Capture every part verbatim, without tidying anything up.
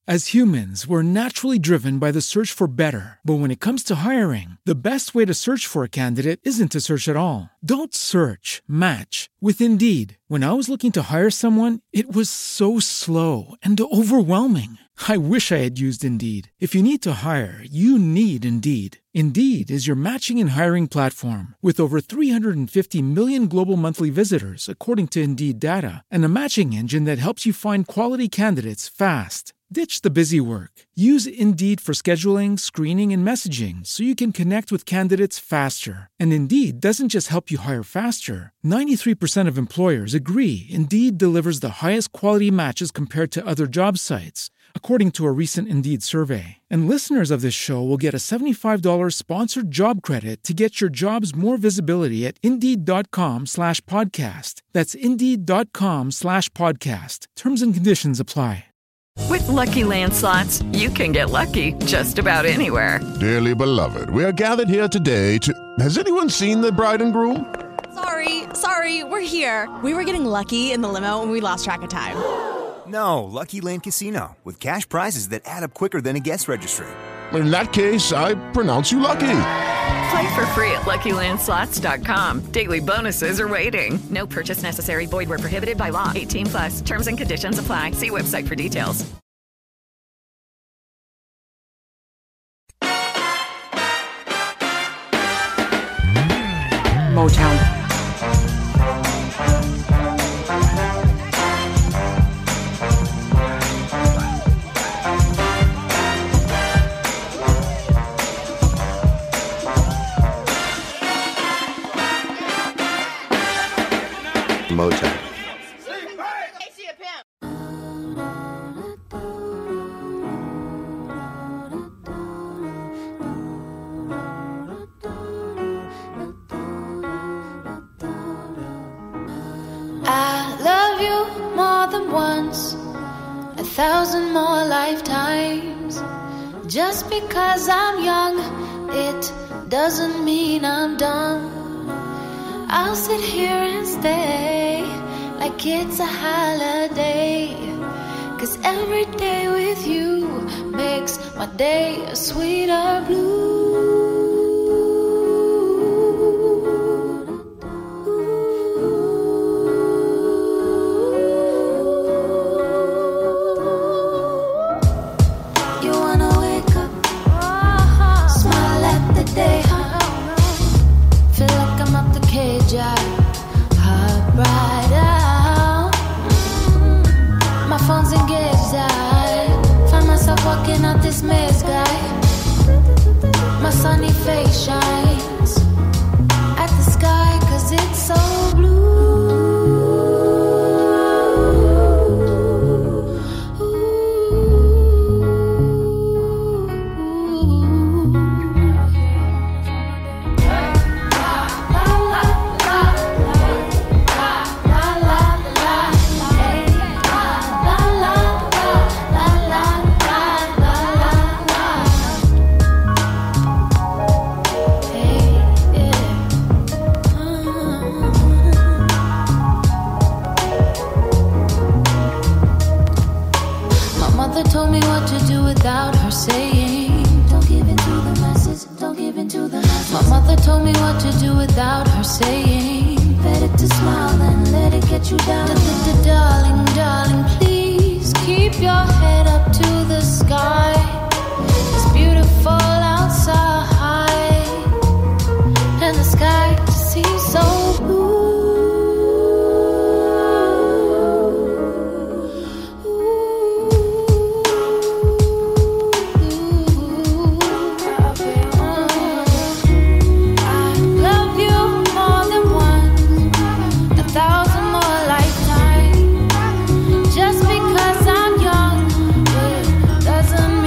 As humans, we're naturally driven by the search for better. But when it comes to hiring, the best way to search for a candidate isn't to search at all. Don't search, match with Indeed. When I was looking to hire someone, it was so slow and overwhelming. I wish I had used Indeed. If you need to hire, you need Indeed. Indeed is your matching and hiring platform with over three hundred fifty million global monthly visitors, according to Indeed data, and a matching engine that helps you find quality candidates fast. Ditch the busy work. Use Indeed for scheduling, screening, and messaging so you can connect with candidates faster. And Indeed doesn't just help you hire faster. ninety-three percent of employers agree Indeed delivers the highest quality matches compared to other job sites, according to a recent Indeed survey. And listeners of this show will get a seventy-five dollars sponsored job credit to get your jobs more visibility at Indeed.com slash podcast. That's Indeed.com slash podcast. Terms and conditions apply. With Lucky Land Slots, you can get lucky just about anywhere. Dearly beloved, we are gathered here today to... Has anyone seen the bride and groom? Sorry, sorry, we're here. We were getting lucky in the limo and we lost track of time. No, Lucky Land Casino, with cash prizes that add up quicker than a guest registry. In that case, I pronounce you lucky. Play for free at Lucky Land Slots dot com. Daily bonuses are waiting. No purchase necessary. Void where prohibited by law. eighteen plus. Terms and conditions apply. See website for details. Motown. Motown. I love you more than once, a thousand more lifetimes. Just because I'm young, it doesn't mean I'm done. I'll sit here and stay like it's a holiday, 'cause every day with you makes my day a sweeter blue. You wanna wake up, smile at the day, feel like I'm up the cage, I hop right out. My phone's engaged, I find myself walking out this maze, guy. My sunny face shines at the sky, 'cause it's so blue. Told me what to do without her saying, don't give in to the message, don't give in to the message. My mother told me what to do without her saying, better to smile than let it get you down. Darling, darling, please keep your head up to the sky. It's beautiful outside, and the sky seems so blue. Just because I'm young, it doesn't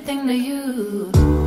everything to you.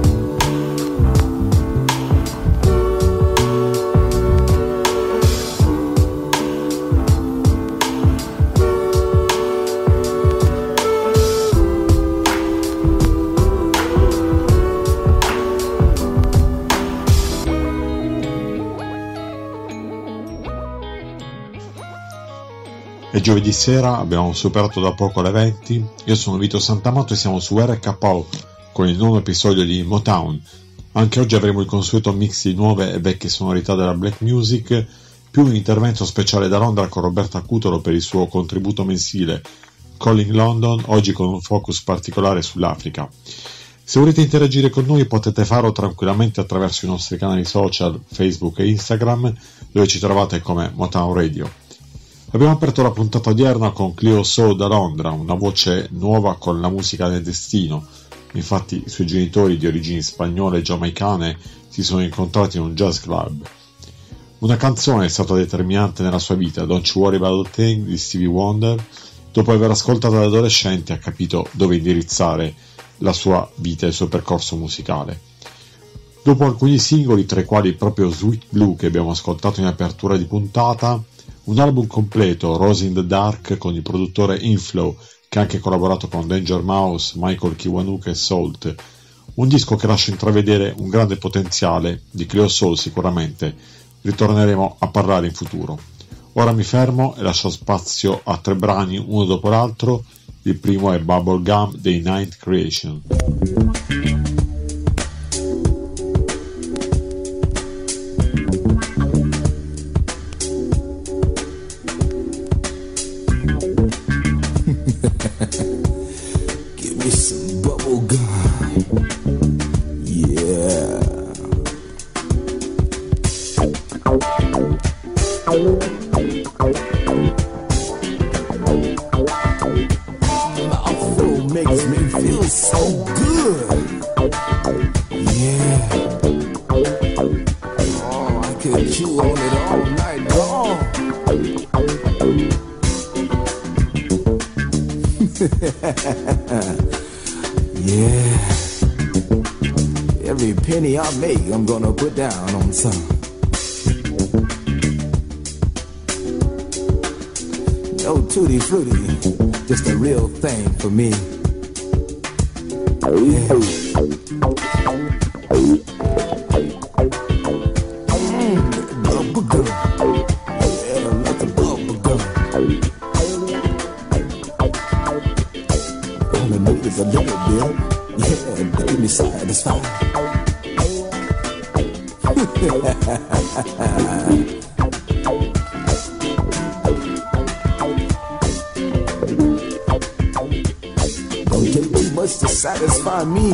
È giovedì sera, abbiamo superato da poco le venti. Io sono Vito Santamato e siamo su R K O con il nuovo episodio di Motown. Anche oggi avremo il consueto mix di nuove e vecchie sonorità della black music, più un intervento speciale da Londra con Roberta Cutolo per il suo contributo mensile Calling London, oggi con un focus particolare sull'Africa. Se volete interagire con noi potete farlo tranquillamente attraverso i nostri canali social Facebook e Instagram, dove ci trovate come Motown Radio. Abbiamo aperto la puntata odierna con Cleo Soul da Londra, una voce nuova con la musica del destino. Infatti i suoi genitori di origini spagnole e giamaicane si sono incontrati in un jazz club. Una canzone è stata determinante nella sua vita, Don't You Worry About a Thing di Stevie Wonder. Dopo aver ascoltato da adolescente ha capito dove indirizzare la sua vita e il suo percorso musicale. Dopo alcuni singoli, tra i quali proprio Sweet Blue che abbiamo ascoltato in apertura di puntata, un album completo, Rose in the Dark, con il produttore Inflow, che ha anche collaborato con Danger Mouse, Michael Kiwanuka e Salt. Un disco che lascia intravedere un grande potenziale di Cleo Soul sicuramente. Ritorneremo a parlare in futuro. Ora mi fermo e lascio spazio a tre brani, uno dopo l'altro. Il primo è Bubblegum dei Ninth Creation. Give me some bubble gum. Yeah. Mouthful makes me feel so good. Yeah. Oh, I could chew on it all night long. Yeah. Every penny I make, I'm gonna put down on some. No tutti frutti, just a real thing for me. Yeah. Mm, bubble gum. Yeah, lots of bubble gum. All I need is a little bit. Yeah, to keep me satisfied. Don't take too much to satisfy me.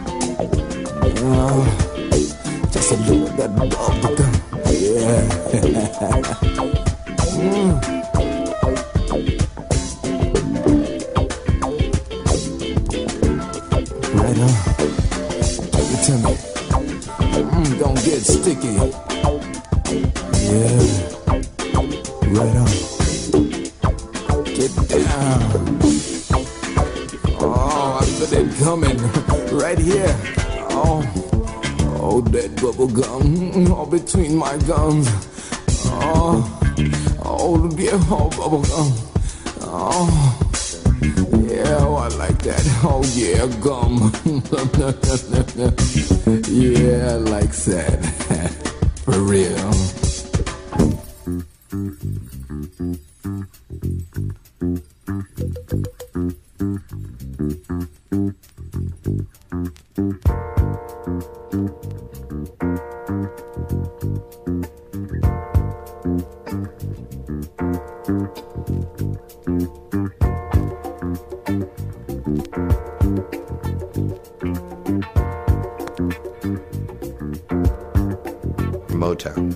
Uh, just a little of that bubble gum. Yeah. mm. Right on. Take it to me. Mm, don't get sticky. Yeah. Right on. Get down. Oh, I feel it coming right here. Oh, oh, that bubble gum all between my gums. Oh, oh, yeah, oh, bubble gum. Oh. Yeah, oh, I like that. Oh, yeah, gum. Yeah, I like that. For real. Motown.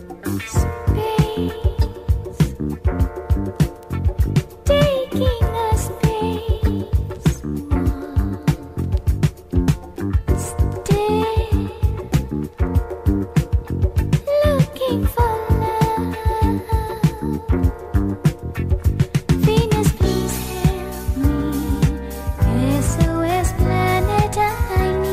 Venus, please help me. S O S planet, I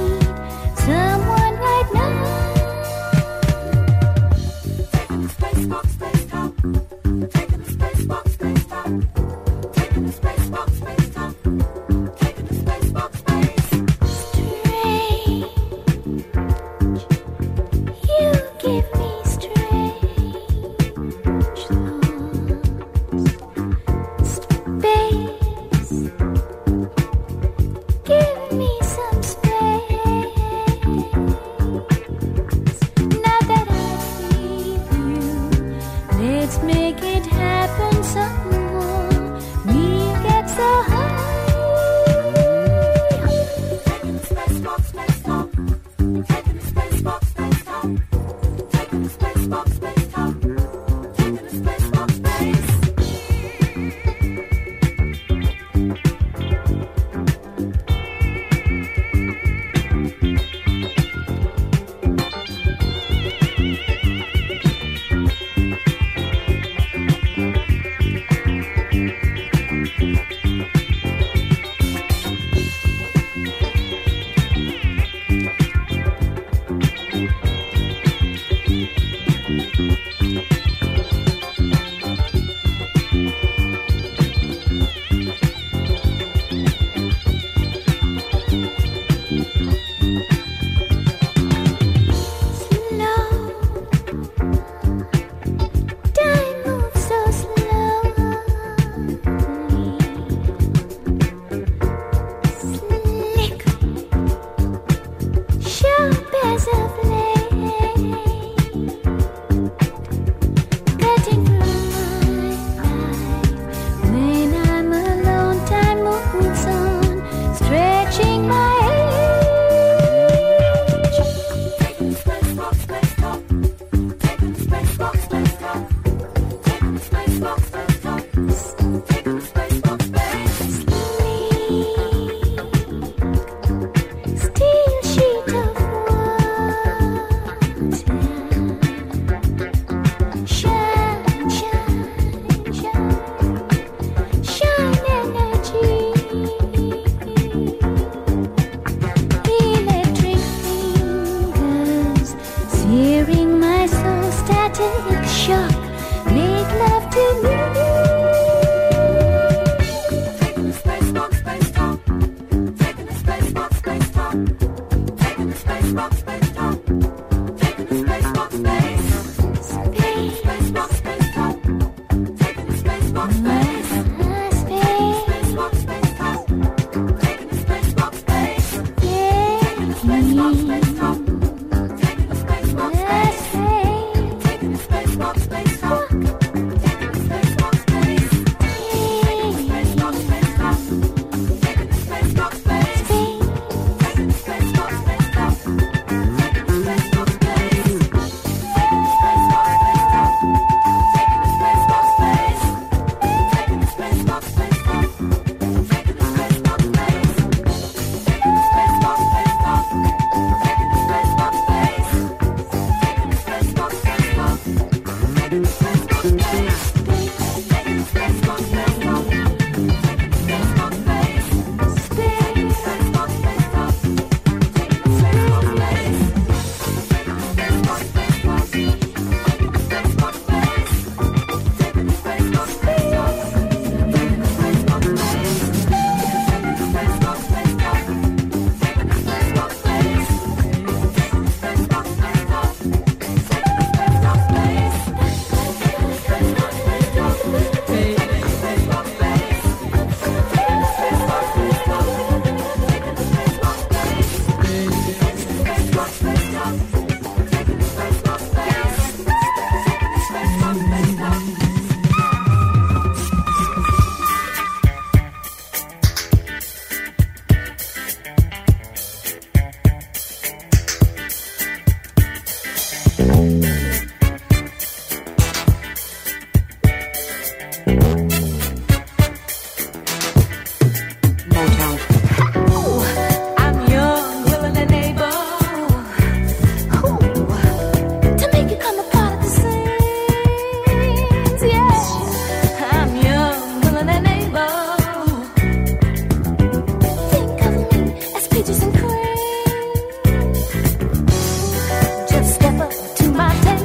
Just step up to my table.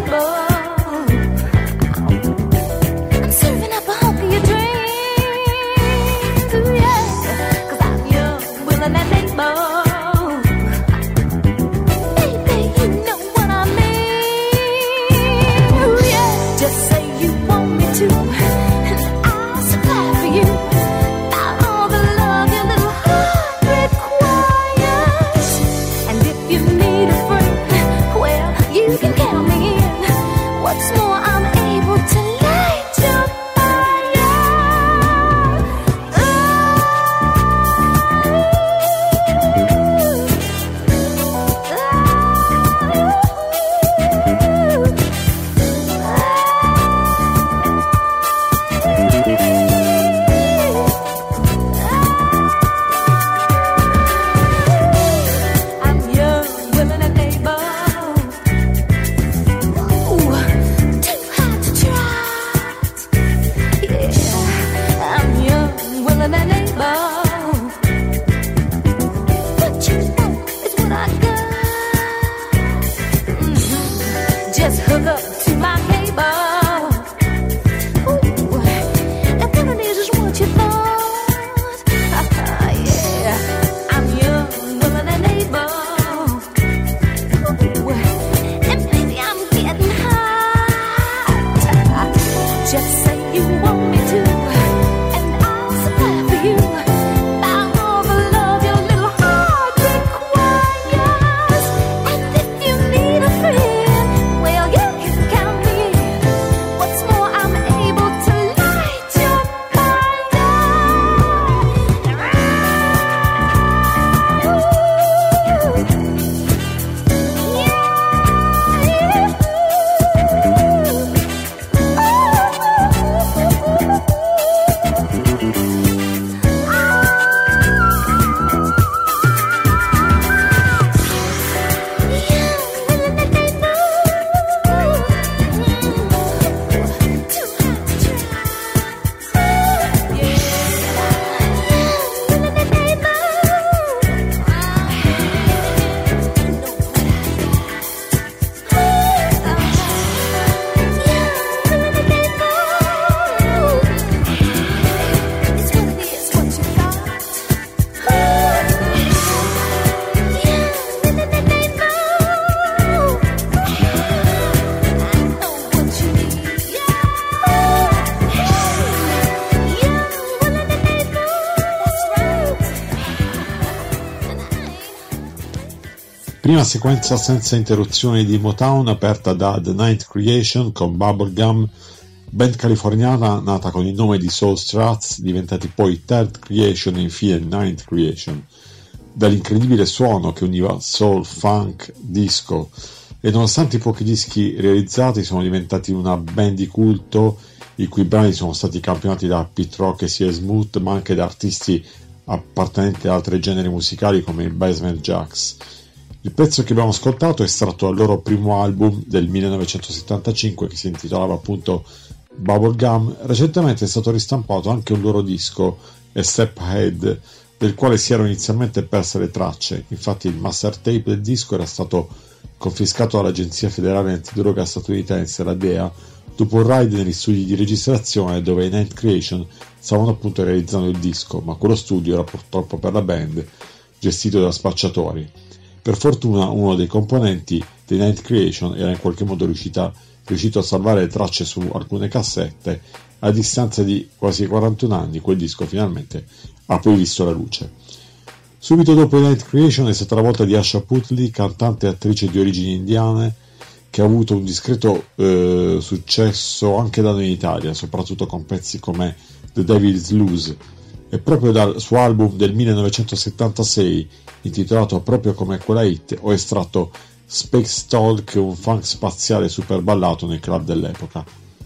Prima sequenza senza interruzioni di Motown, aperta da The Ninth Creation con Bubblegum, band californiana nata con il nome di Soul Struts, diventati poi Third Creation e infine Ninth Creation. Dall'incredibile suono che univa soul, funk, disco, e nonostante i pochi dischi realizzati sono diventati una band di culto, i cui brani sono stati campionati da Pete Rock e C S Smooth, ma anche da artisti appartenenti ad altri generi musicali come i Basement Jaxx. Il pezzo che abbiamo ascoltato è estratto dal loro primo album del millenovecentosettantacinque, che si intitolava appunto Bubblegum. Recentemente è stato ristampato anche un loro disco, A Step Ahead, del quale si erano inizialmente perse le tracce. Infatti il master tape del disco era stato confiscato dall'Agenzia Federale Antidroga statunitense, la D E A, dopo un raid negli studi di registrazione dove i Ninth Creation stavano appunto realizzando il disco, ma quello studio era purtroppo per la band gestito da spacciatori. Per fortuna uno dei componenti dei Ninth Creation era in qualche modo riuscita, riuscito a salvare le tracce su alcune cassette. A distanza di quasi quarantuno anni quel disco finalmente ha poi visto la luce. Subito dopo i Ninth Creation è stata la volta di Asha Putley, cantante e attrice di origini indiane, che ha avuto un discreto eh, successo anche da noi in Italia, soprattutto con pezzi come The Devil's Loose. E proprio dal suo album del millenovecentosettantasei, intitolato proprio come quella hit, ho estratto Space Talk, un funk spaziale super ballato nei club dell'epoca.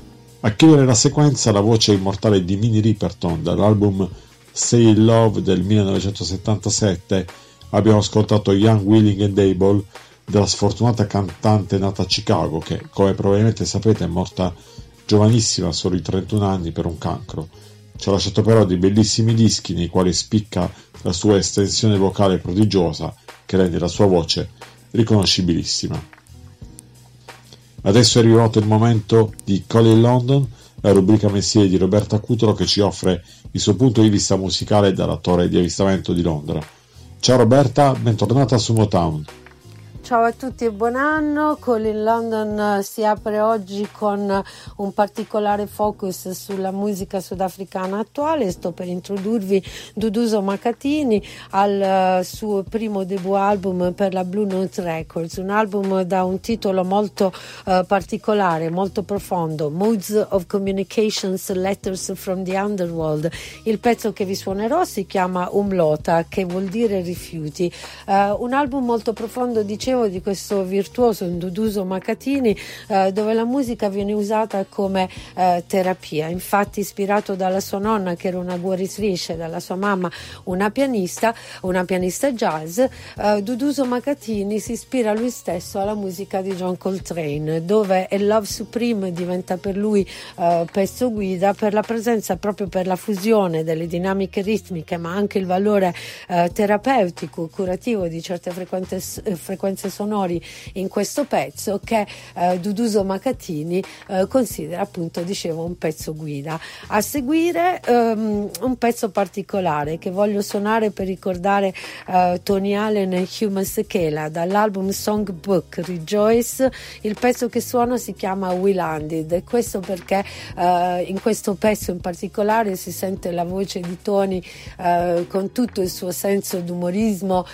A chiudere la sequenza la voce immortale di Minnie Riperton dall'album Stay in Love del millenovecentosettantasette. Abbiamo ascoltato Young, Willing and Able, della sfortunata cantante nata a Chicago che, come probabilmente sapete, è morta giovanissima, a soli trentuno anni, per un cancro. Ci ha lasciato però dei bellissimi dischi nei quali spicca la sua estensione vocale prodigiosa che rende la sua voce riconoscibilissima. Adesso è arrivato il momento di Call in London, la rubrica mensile di Roberta Cutolo che ci offre il suo punto di vista musicale dalla torre di avvistamento di Londra. Ciao Roberta, bentornata su Motown. Ciao a tutti e buon anno. Call in London si apre oggi con un particolare focus sulla musica sudafricana attuale. Sto per introdurvi Duduzo Makhathini al suo primo debut album per la Blue Note Records, un album da un titolo molto uh, particolare, molto profondo, Modes of Communications, Letters from the Underworld. Il pezzo che vi suonerò si chiama Umlota, che vuol dire rifiuti. Uh, un album molto profondo, dicevo, di questo virtuoso Duduzo Makhathini, eh, dove la musica viene usata come eh, terapia. Infatti, ispirato dalla sua nonna, che era una guaritrice, dalla sua mamma una pianista, una pianista jazz, eh, Duduzo Makhathini si ispira lui stesso alla musica di John Coltrane, dove A Love Supreme diventa per lui eh, pezzo guida per la presenza, proprio per la fusione delle dinamiche ritmiche, ma anche il valore eh, terapeutico, curativo di certe frequenze, frequenze sonori in questo pezzo, che eh, Duduzo Makhathini eh, considera, appunto, dicevo, un pezzo guida. A seguire um, un pezzo particolare che voglio suonare per ricordare uh, Tony Allen e Hugh Masekela dall'album Songbook Rejoice. Il pezzo che suono si chiama We Landed, e questo perché uh, in questo pezzo in particolare si sente la voce di Tony uh, con tutto il suo senso d'umorismo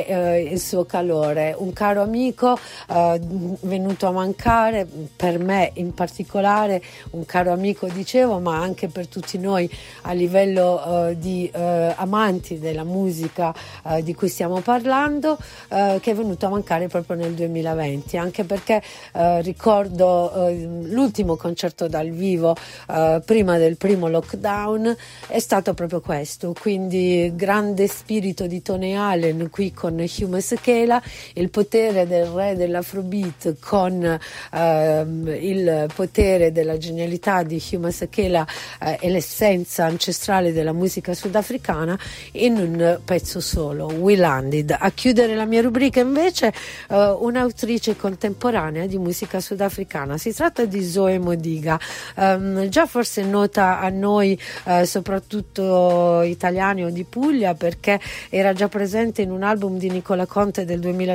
e uh, il suo calore. Un caro amico uh, venuto a mancare, per me in particolare, un caro amico, dicevo, ma anche per tutti noi a livello uh, di uh, amanti della musica uh, di cui stiamo parlando, uh, che è venuto a mancare proprio nel duemilaventi, anche perché uh, ricordo uh, l'ultimo concerto dal vivo uh, prima del primo lockdown è stato proprio questo, quindi grande spirito di Tony Allen qui con Hugh Masekela, il potere del re dell'Afrobeat con uh, il potere della genialità di Hugh Masekela uh, e l'essenza ancestrale della musica sudafricana in un pezzo solo, We Landed. A chiudere la mia rubrica invece uh, un'autrice contemporanea di musica sudafricana, si tratta di Zoe Modiga, um, già forse nota a noi uh, soprattutto italiani o di Puglia, perché era già presente in un album di Nicola Conte del duemiladiciotto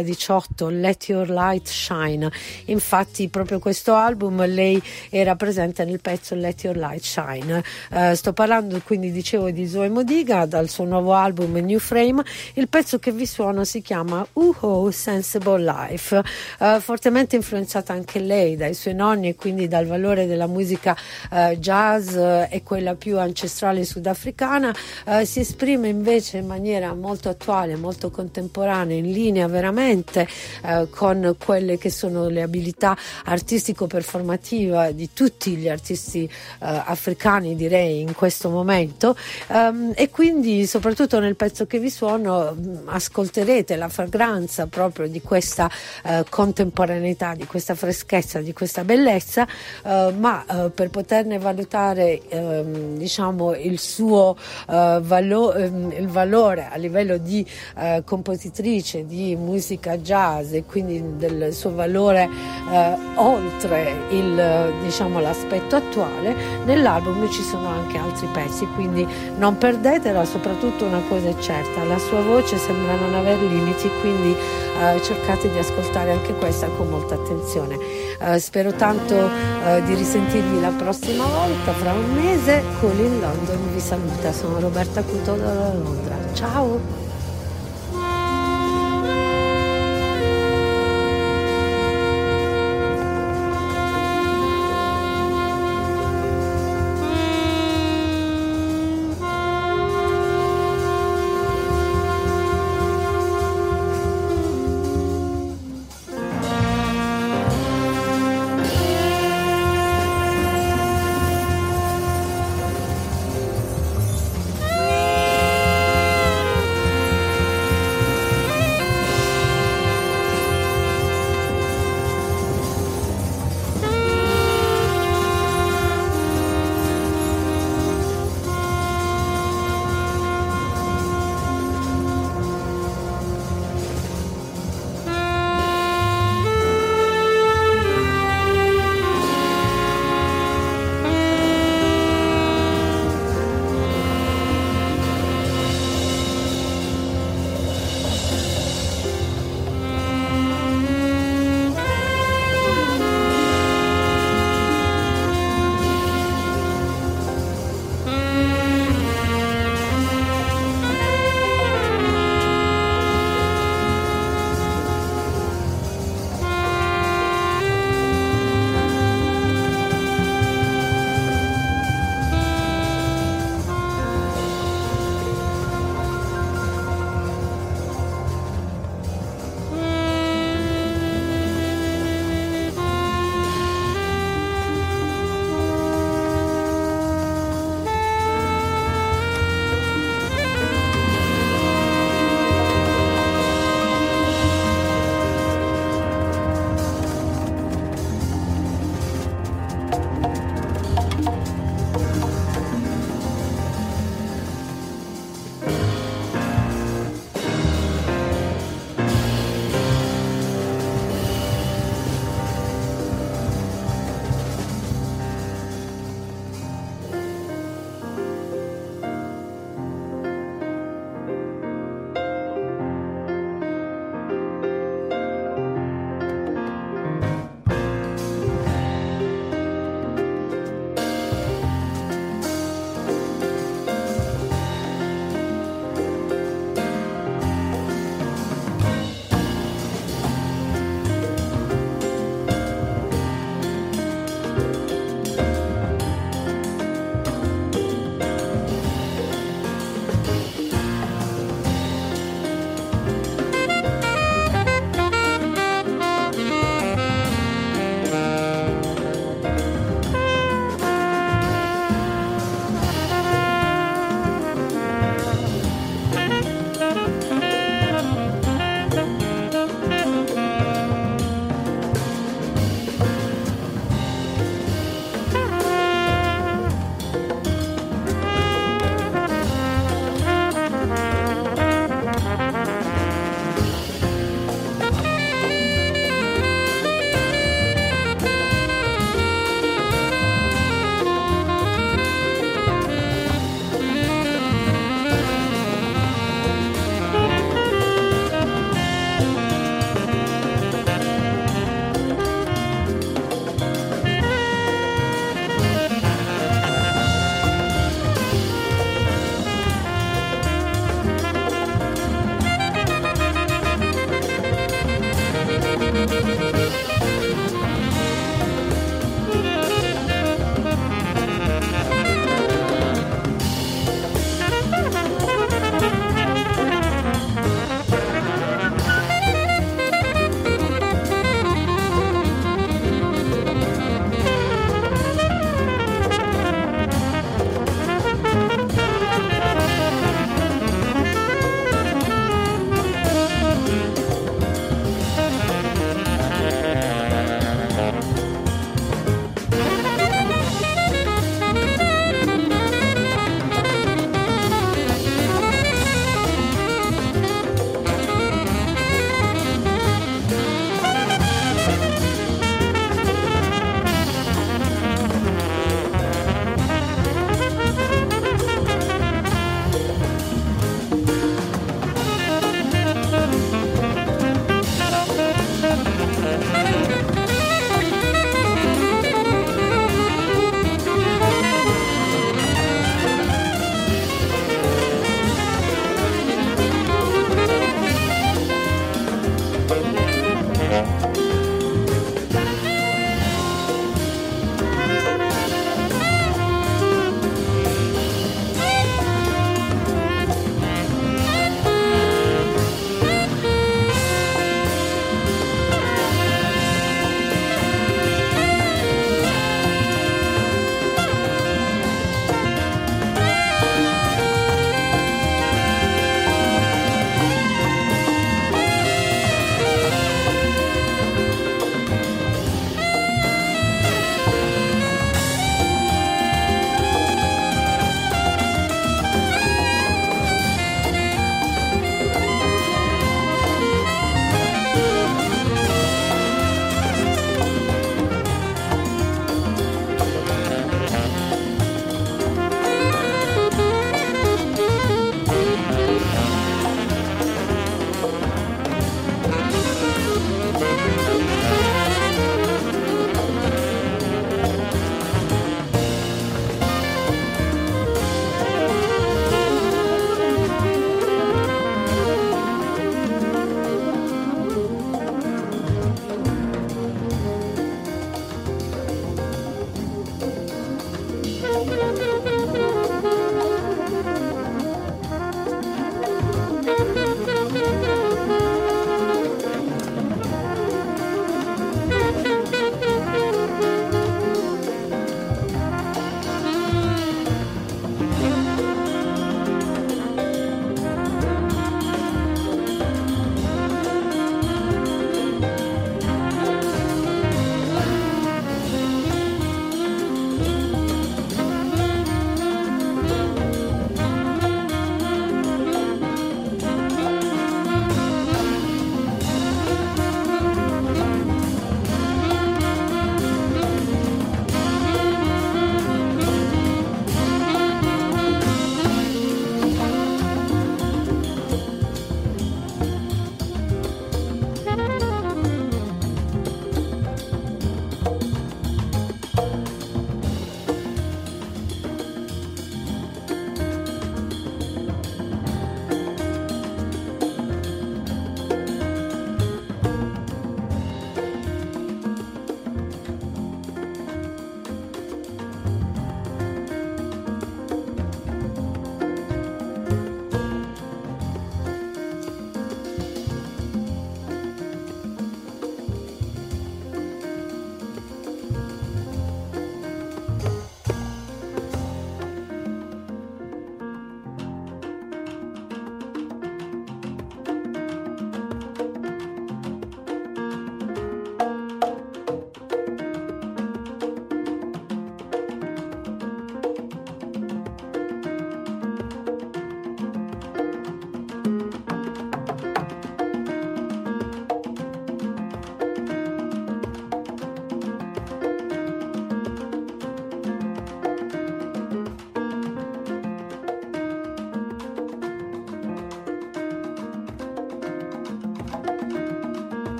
duemilaotto, Let Your Light Shine. Infatti proprio questo album lei era presente nel pezzo Let Your Light Shine. Uh, sto parlando quindi, dicevo, di Zoe Modiga dal suo nuovo album New Frame. Il pezzo che vi suono si chiama Uho Sensible Life, uh, fortemente influenzata anche lei dai suoi nonni e quindi dal valore della musica uh, jazz uh, e quella più ancestrale sudafricana. Uh, si esprime invece in maniera molto attuale, molto contemporanea, in linea veramente uh, con quelle che sono le abilità artistico-performativa di tutti gli artisti uh, africani, direi, in questo momento. Um, e quindi soprattutto nel pezzo che vi suono ascolterete la fragranza proprio di questa uh, contemporaneità, di questa freschezza, di questa bellezza, uh, ma uh, per poterne valutare um, diciamo il suo uh, valo- um, il valore a livello di uh, compositrice di musica jazz e quindi del suo valore uh, oltre il, diciamo, l'aspetto attuale, nell'album ci sono anche altri pezzi, quindi non perdetela. Soprattutto una cosa è certa: la sua voce sembra non aver limiti, quindi uh, cercate di ascoltare anche questa con molta attenzione. Uh, spero tanto uh, di risentirvi la prossima volta, fra un mese. Cool in London vi saluta, sono Roberta Cuto da Londra, ciao!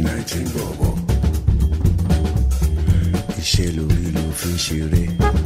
nineteen nineteen bobo. Iṣẹ́ lórí ló fi ń ṣeré.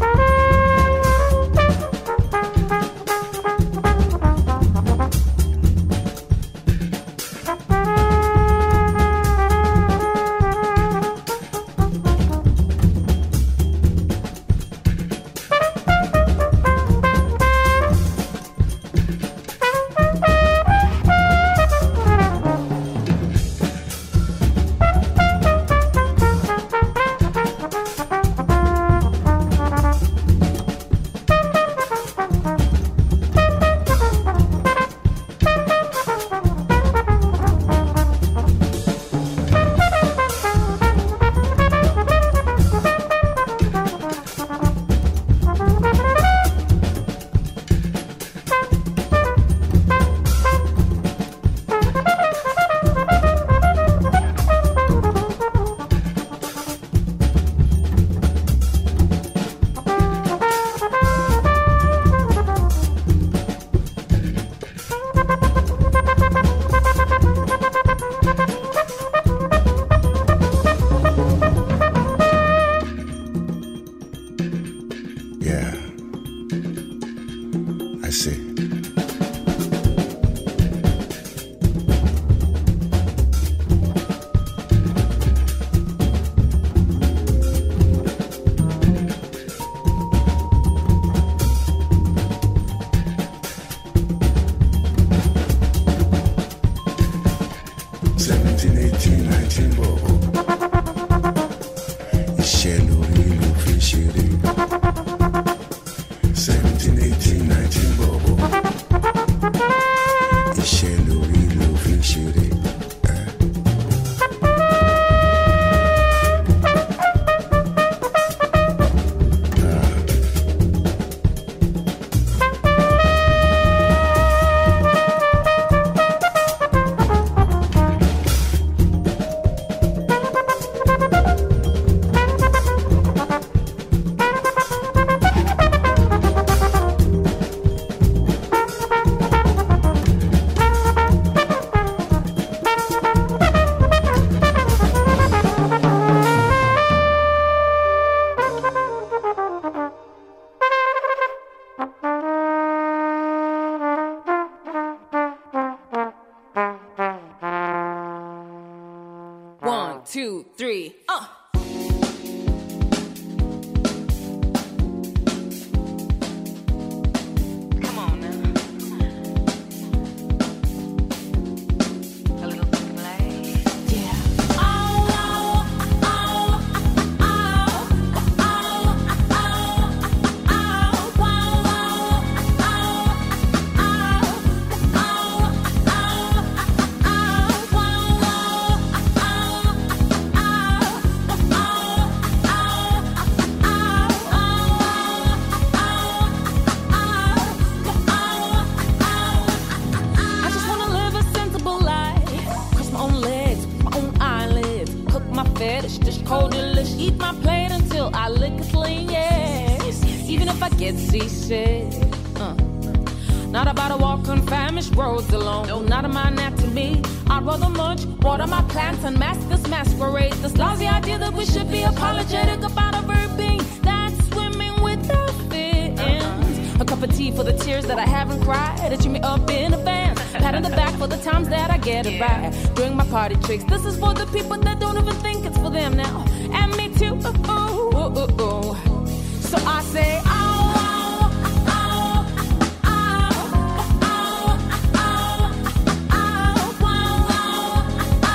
two, three, uh. Come on now. A little play. Yeah. Oh, oh, oh, oh, oh, oh, oh, oh, wow, fetish, dish cold delish, eat my plate until I lick it clean, yes. Even if I get seasick, uh. Not about to walk on famished roads alone, no, not in my anatomy. I'd rather munch, water my plants, and mask this masquerade. This lousy idea that we should be apologetic about a verb being that's swimming without fins. Uh-huh. A cup of tea for the tears that I haven't cried, itching me up in advance. Pat on the back for the times that I get it right. Doing my party tricks. This is for the people that don't even think it's for them now. And me too. Ooh, ooh, ooh, ooh. So I say, oh, oh, oh, oh, oh, oh, oh, oh, oh,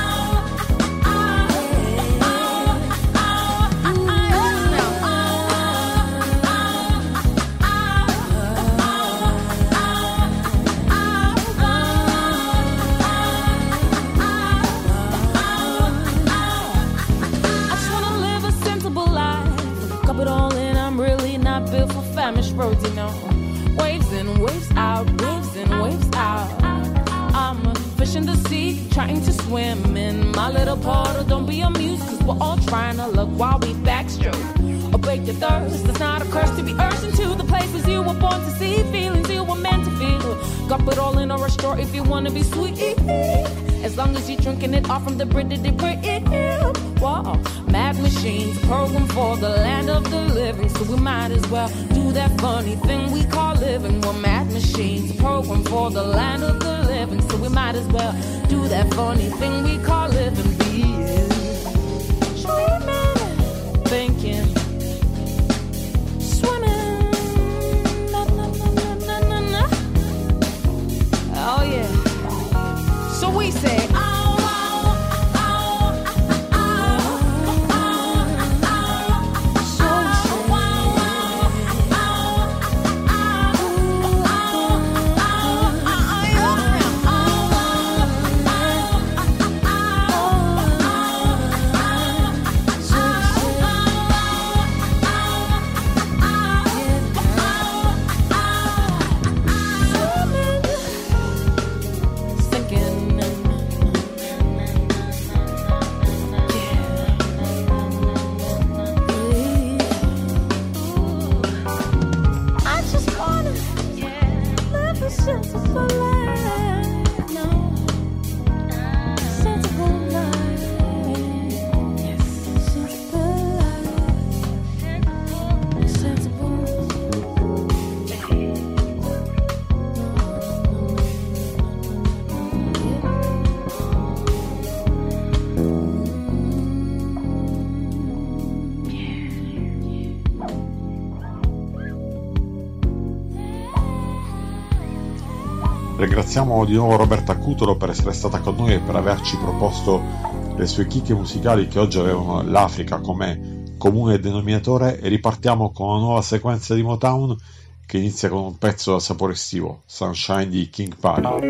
built for famished roads, you know. Waves in, waves out, waves in, waves out. I'm a fish in the sea, trying to swim in my little puddle. Don't be amused, cause we're all trying to look while we backstroke. or break your thirst. It's not a curse to be urged into the places you were born to see, feelings you were meant to feel. Got it all in a restore if you wanna be sweet. As long as you're drinking it off from the Brit that they bring it. Whoa, mad machines programmed for the land of the living, so we might as well do that funny thing we call living. We're mad machines programmed for the land of the living, so we might as well do that funny thing we call living. Be dreaming, thinking, swimming, na, na, na, na, na, na. Oh yeah. So we say, oh. Ringraziamo di nuovo Roberta Cutolo per essere stata con noi e per averci proposto le sue chicche musicali che oggi avevano l'Africa come comune denominatore, e ripartiamo con una nuova sequenza di Motown che inizia con un pezzo dal sapore estivo, Sunshine di King Pari.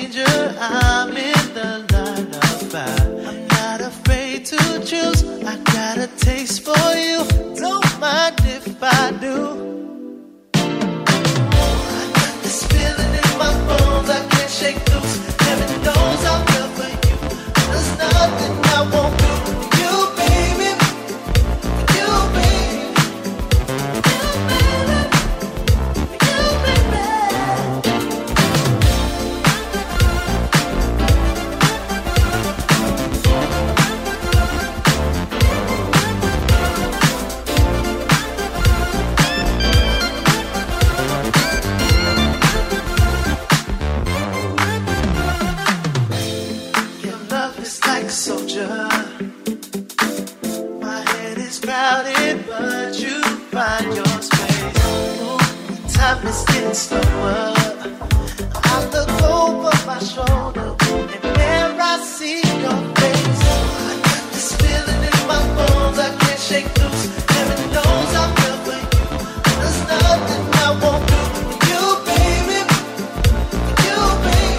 danger, I'm in the line of fire. I'm not afraid to choose, I got a taste for you. Don't mind if I do. I got this feeling in my bones, I can't shake loose. Heaven knows I'm good for you. There's nothing I won't do for you, baby. For you, baby. Soldier, my head is crowded, but you find your space. Ooh, time is getting slower. I look over my shoulder, and there I see your face. I got this feeling in my bones, I can't shake loose. Heaven knows I'm good for you. There's nothing I won't do for you, baby. For you, baby.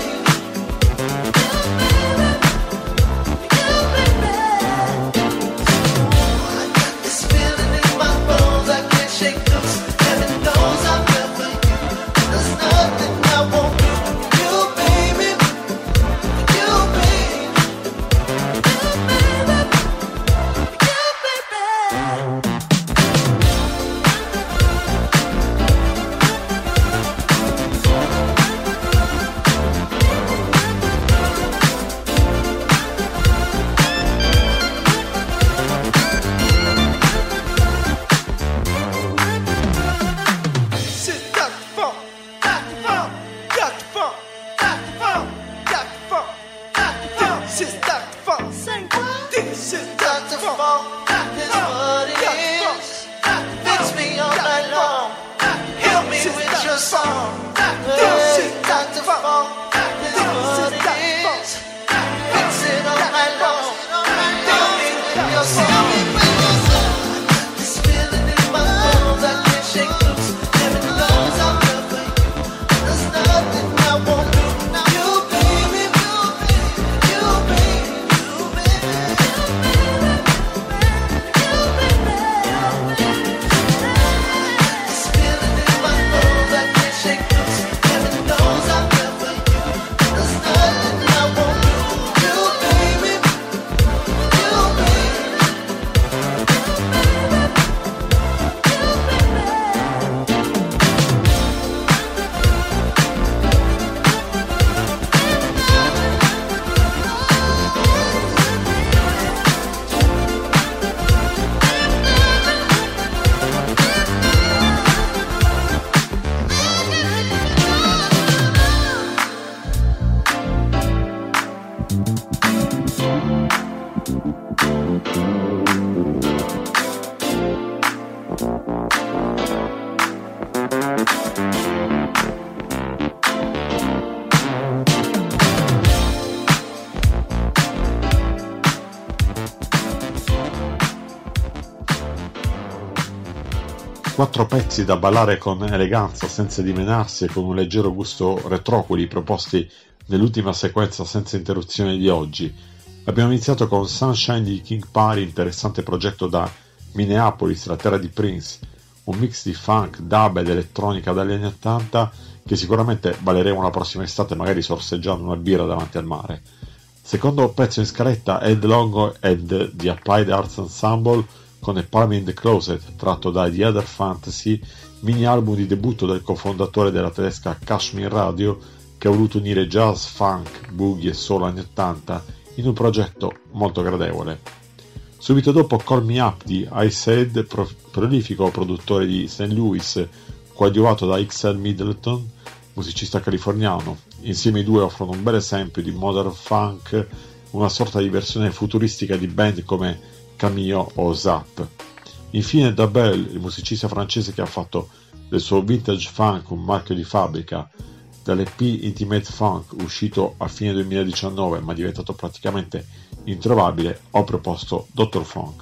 Quattro pezzi da ballare con eleganza senza dimenarsi e con un leggero gusto retro, quelli proposti nell'ultima sequenza senza interruzione di oggi. Abbiamo iniziato con Sunshine di King Party, interessante progetto da Minneapolis, la terra di Prince, un mix di funk, dub ed elettronica dagli anni ottanta che sicuramente balleremo la prossima estate, magari sorseggiando una birra davanti al mare. Secondo pezzo in scaletta, Ed Longo ed The Applied Arts Ensemble con A Palm in the Closet, tratto da The Other Fantasy, mini album di debutto del cofondatore della tedesca Kashmir Radio, che ha voluto unire jazz, funk, boogie e soul anni ottanta in un progetto molto gradevole. Subito dopo Call Me Up di Ice Head, pro- prolifico produttore di Saint Louis, coadiuvato da X L Middleton, musicista californiano. Insieme i due offrono un bel esempio di modern funk, una sorta di versione futuristica di band come Cameo o Zap. Infine Dabel, il musicista francese che ha fatto del suo vintage funk un marchio di fabbrica. Dall'E P Intimate Funk, uscito a fine duemiladiciannove ma diventato praticamente introvabile, ho proposto Doctor Funk.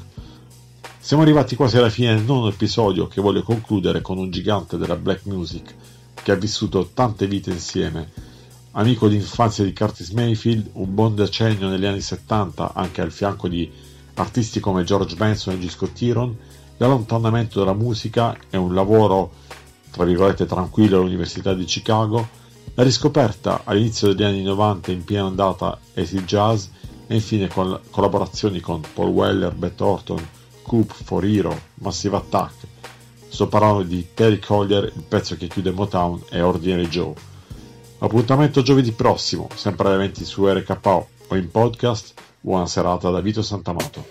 Siamo arrivati quasi alla fine del nono episodio, che voglio concludere con un gigante della black music che ha vissuto tante vite insieme. Amico d'infanzia di Curtis Mayfield, un buon decennio negli anni settanta, anche al fianco di artisti come George Benson e G. Scott Heron, l'allontanamento dalla musica e un lavoro, tra virgolette, tranquillo all'Università di Chicago, la riscoperta all'inizio degli anni novanta in piena ondata acid jazz e infine con collaborazioni con Paul Weller, Beth Orton, Coop, For Hero, Massive Attack. Sto parlando di Terry Collier, il pezzo che chiude Motown è Ordinary Joe. Appuntamento giovedì prossimo, sempre alle venti su R K O o in podcast. Buona serata da Vito Santamato.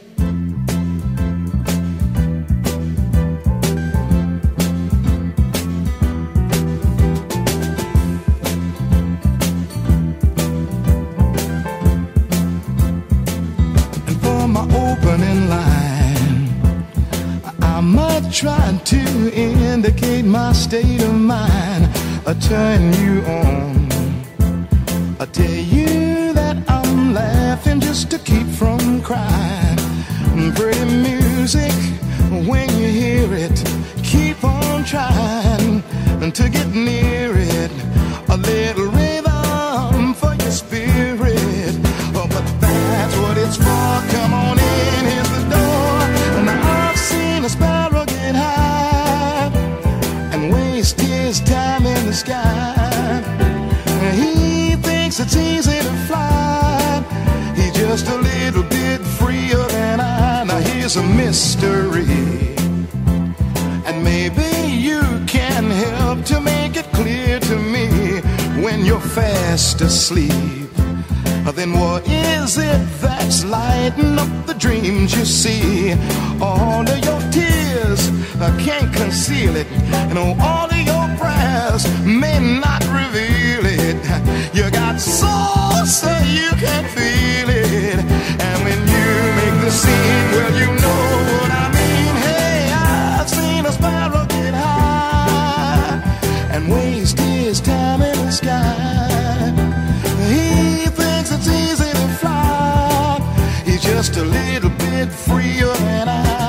And for my opening line, I might try to indicate my state of mind, I turn you on, I tell you that I'm laughing just to keep from crying. Pretty music, when you hear it, keep on trying to get near it. A little rhythm for your spirit, oh, but that's what it's for. Come on in, here's the door. And I've seen a sparrow get high and waste his time in the sky. He thinks it's easy to fly, he's just a little bit freer than I. Now here's a mystery, and maybe you can help to make it clear to me. When you're fast asleep, then what is it that's lighting up the dreams you see? All of your tears, I can't conceal it, and all of your prayers may not reveal it. You got soul, so you can feel it, and when you make the scene, well, you know what I mean. Hey, I've seen a sparrow get high and waste his time in the sky. He thinks it's easy to fly, he's just a little bit freer than I.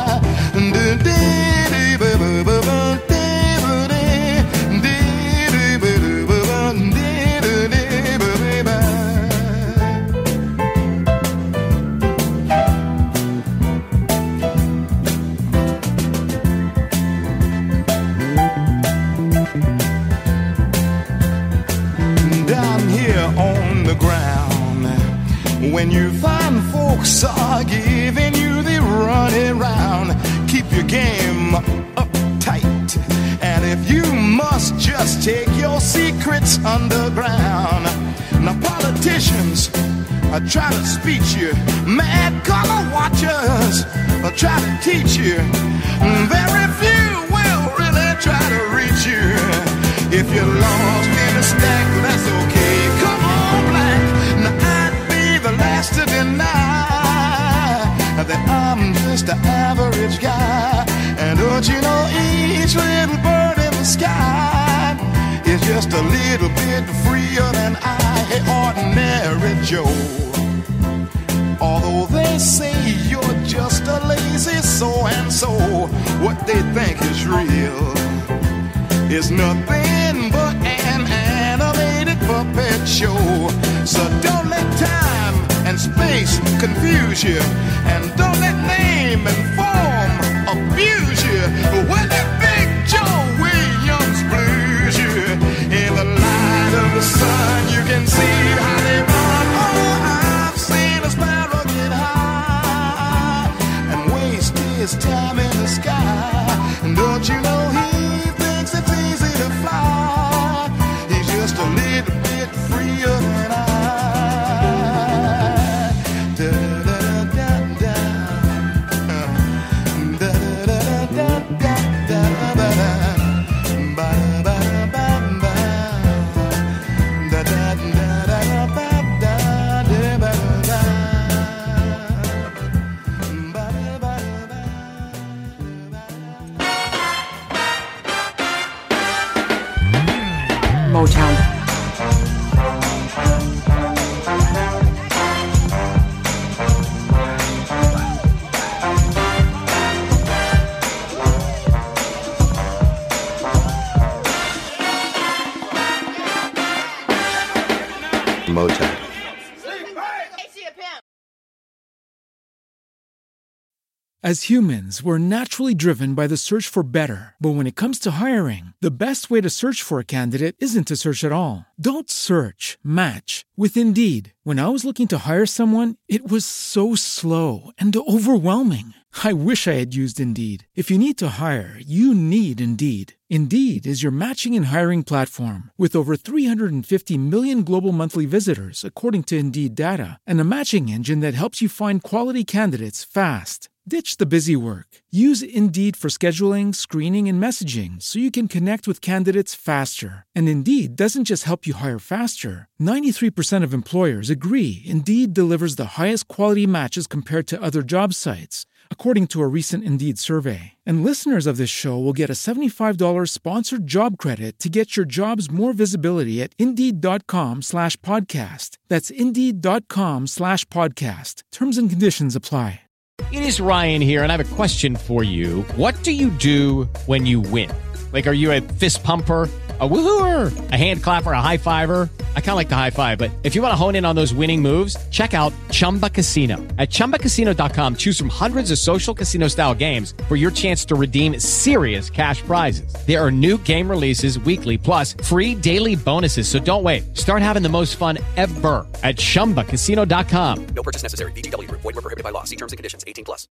When you find folks are giving you the running round, keep your game uptight. And if you must, just take your secrets underground. Now politicians are trying to speech you, mad color watchers are trying to teach you. Very few will really try to reach you. If you're lost in a stack, that's okay. Come on, black. Now I'd be the last to deny that I'm just an average guy. And don't you know each little bird in the sky is just a little bit freer than I. Hey, Ordinary Joe, although they say you're just a lazy so-and-so, what they think is real is nothing but an animated puppet show. So don't let time and space confuse you, and don't let name and form abuse you. When that Big Joe Williams blues you, in the light of the sun you can see how they run. Oh, I've seen a sparrow get high and waste his time in the sky. And don't you know he thinks it's easy to fly, he's just a little bit freer than I. Da, da, da, da. Uh, As humans, we're naturally driven by the search for better. But when it comes to hiring, the best way to search for a candidate isn't to search at all. Don't search, match with Indeed. When I was looking to hire someone, it was so slow and overwhelming. I wish I had used Indeed. If you need to hire, you need Indeed. Indeed is your matching and hiring platform with over three hundred fifty million global monthly visitors, according to Indeed data, and a matching engine that helps you find quality candidates fast. Ditch the busy work. Use Indeed for scheduling, screening, and messaging so you can connect with candidates faster. And Indeed doesn't just help you hire faster. ninety-three percent of employers agree Indeed delivers the highest quality matches compared to other job sites, according to a recent Indeed survey. And listeners of this show will get a seventy-five dollars sponsored job credit to get your jobs more visibility at Indeed.com slash podcast. That's Indeed.com slash podcast. Terms and conditions apply. It is Ryan here, and I have a question for you. What do you do when you win? Like, are you a fist pumper, a woo-hooer, a hand clapper, a high-fiver? I kind of like the high-five, but if you want to hone in on those winning moves, check out Chumba Casino. At Chumba Casino dot com, choose from hundreds of social casino-style games for your chance to redeem serious cash prizes. There are new game releases weekly, plus free daily bonuses, so don't wait. Start having the most fun ever at Chumba Casino dot com. No purchase necessary. V G W. Void where prohibited by law. See terms and conditions. eighteen plus.